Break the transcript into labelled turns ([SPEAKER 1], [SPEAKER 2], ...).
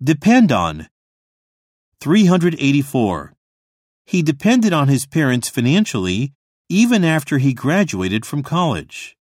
[SPEAKER 1] Depend on. 384. He depended on his parents financially even after he graduated from college.